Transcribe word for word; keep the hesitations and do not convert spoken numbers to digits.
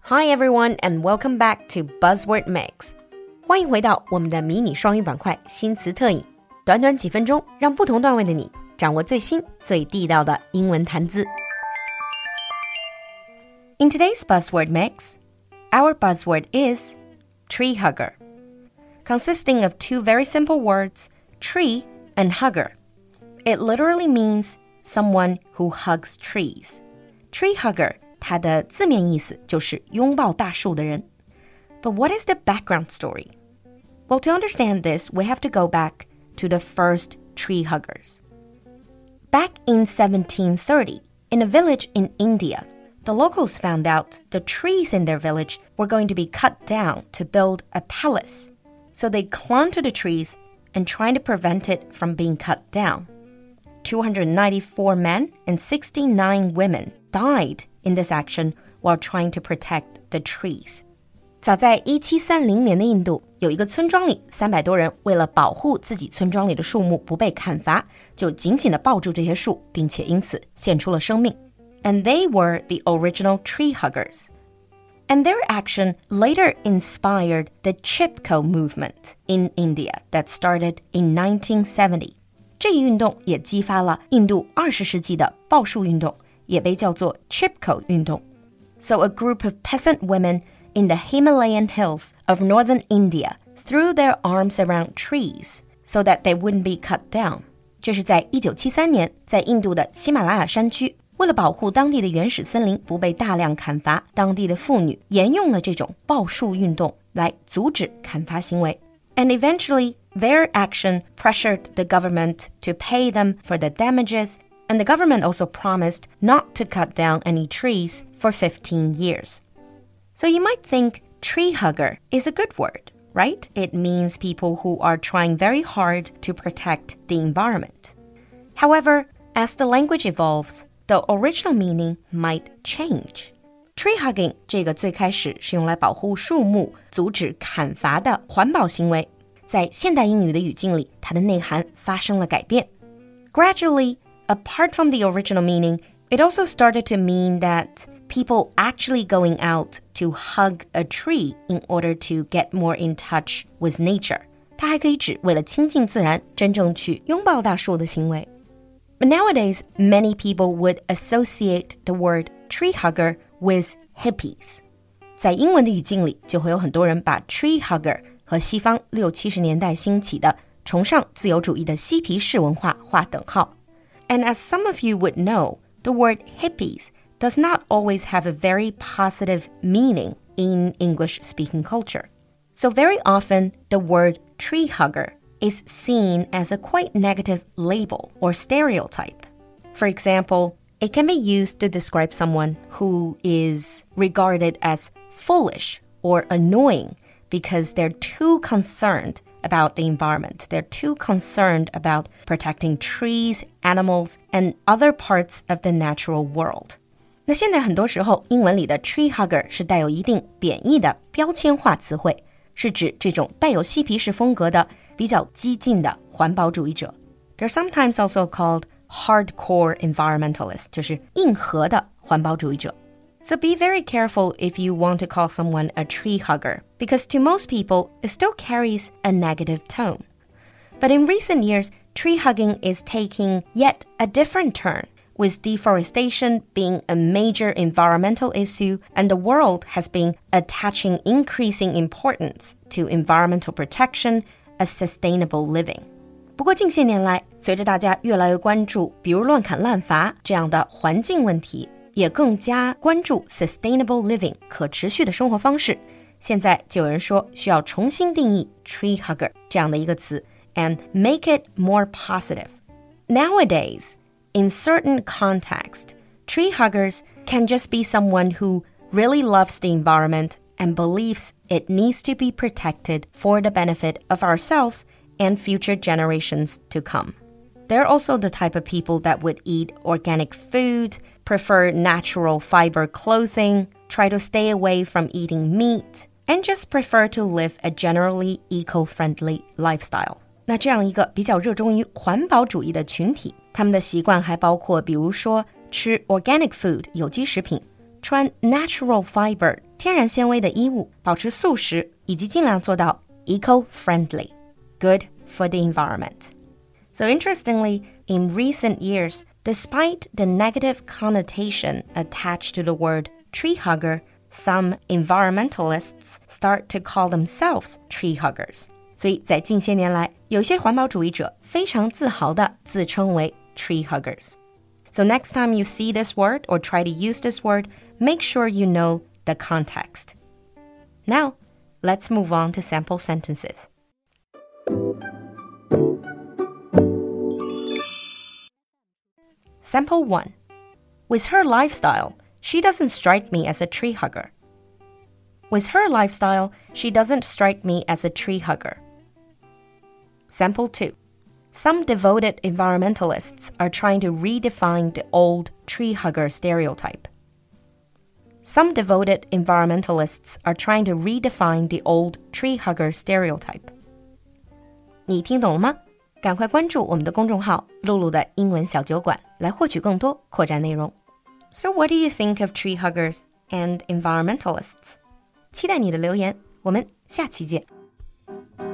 Hi everyone and welcome back to Buzzword Mix. 欢迎回到我们的迷你双语板块新词特饮，短短几分钟，让不同段位的你掌握最新最地道的英文谈资。In today's Buzzword Mix, our buzzword is tree hugger, consisting of two very simple words, tree and hugger. It literally means someone who hugs trees. Tree hugger, 它的字面意思就是拥抱大树的人。But what is the background story? Well, to understand this, we have to go back to the first tree huggers. Back in seventeen thirty, in a village in India, the locals found out the trees in their village were going to be cut down to build a palace. So they clung to the trees and tried to prevent it from being cut down. two hundred ninety-four men and sixty-nine women died in this action while trying to protect the trees. 早在一七三零年的印度，有一个村庄里，三百多人为了保护自己村庄里的树木不被砍伐，就紧紧地抱住这些树，并且因此献出了生命。And they were the original tree huggers. And their action later inspired the Chipko movement in India that started in nineteen seventy. 这一运动也激发了印度二十世纪的抱树运动，也被叫做 Chipko 运动。So a group of peasant women in the Himalayan hills of northern India threw their arms around trees so that they wouldn't be cut down. 这是在一九七三年，在印度的喜马拉雅山区，为了保护当地的原始森林不被大量砍伐，当地的妇女沿用了这种抱树运动来阻止砍伐行为。And eventually, their action pressured the government to pay them for the damages, and the government also promised not to cut down any trees for fifteen years. So you might think tree hugger is a good word, right? It means people who are trying very hard to protect the environment. However, as the language evolves, the original meaning might change. Tree hugging 这个最开始是用来保护树木、阻止砍伐的环保行为，在现代英语的语境里，它的内涵发生了改变。Gradually, apart from the original meaning, it also started to mean that people actually going out to hug a tree in order to get more in touch with nature. 它还可以指为了亲近自然，真正去拥抱大树的行为。But nowadays, many people would associate the word tree hugger with hippies. 在英文的语境里，就会有很多人把 tree hugger 和西方六七十年代兴起的崇尚自由主义的嬉皮士文化划等号。And as some of you would know, the word hippies does not always have a very positive meaning in English-speaking culture. So very often, the word tree hugger is seen as a quite negative label or stereotype. For example, it can be used to describe someone who is regarded as foolish or annoying because they're too concerned about the environment. They're too concerned about protecting trees, animals, and other parts of the natural world. 那现在很多时候，英文里的 tree hugger 是带有一定贬义的标签化词汇，是指这种带有嬉皮士风格的比较激进的环保主义者。They're sometimes also called hardcore environmentalists, 就是硬核的环保主义者。So be very careful if you want to call someone a tree hugger, because to most people, it still carries a negative tone. But in recent years, tree hugging is taking yet a different turn, with deforestation being a major environmental issue, and the world has been attaching increasing importance to environmental protection as sustainable living. 不过近些年来，随着大家越来越关注，比如乱砍滥伐这样的环境问题，也更加关注 sustainable living 可持续的生活方式。现在就有人说需要重新定义 tree hugger 这样的一个词 and make it more positive. Nowadays, in certain context, tree huggers can just be someone who really loves the environment and believes it needs to be protected for the benefit of ourselves and future generations to come. They're also the type of people that would eat organic food, prefer natural fiber clothing, try to stay away from eating meat, and just prefer to live a generally eco-friendly lifestyle. 那这样一个比较热衷于环保主义的群体，他们的习惯还包括比如说吃 organic food 有机食品，穿 natural fiber 天然纤维的衣物，保持素食，以及尽量做到 eco-friendly, good for the environment. So interestingly, in recent years, despite the negative connotation attached to the word tree hugger, some environmentalists start to call themselves tree huggers. 所以在近些年来，有些环保主义者非常自豪地自称为 tree huggers. So next time you see this word or try to use this word, make sure you know the context. Now, let's move on to sample sentences. Sample one. With her lifestyle, she doesn't strike me as a tree hugger. With her lifestyle, she doesn't strike me as a tree hugger. Sample two. Some devoted environmentalists are trying to redefine the old tree hugger stereotype. Some devoted environmentalists are trying to redefine the old tree hugger stereotype. 你听懂了吗？赶快关注我们的公众号露露的英文小酒馆来获取更多扩展内容。So what do you think of tree huggers and environmentalists? 期待你的留言，我们下期见。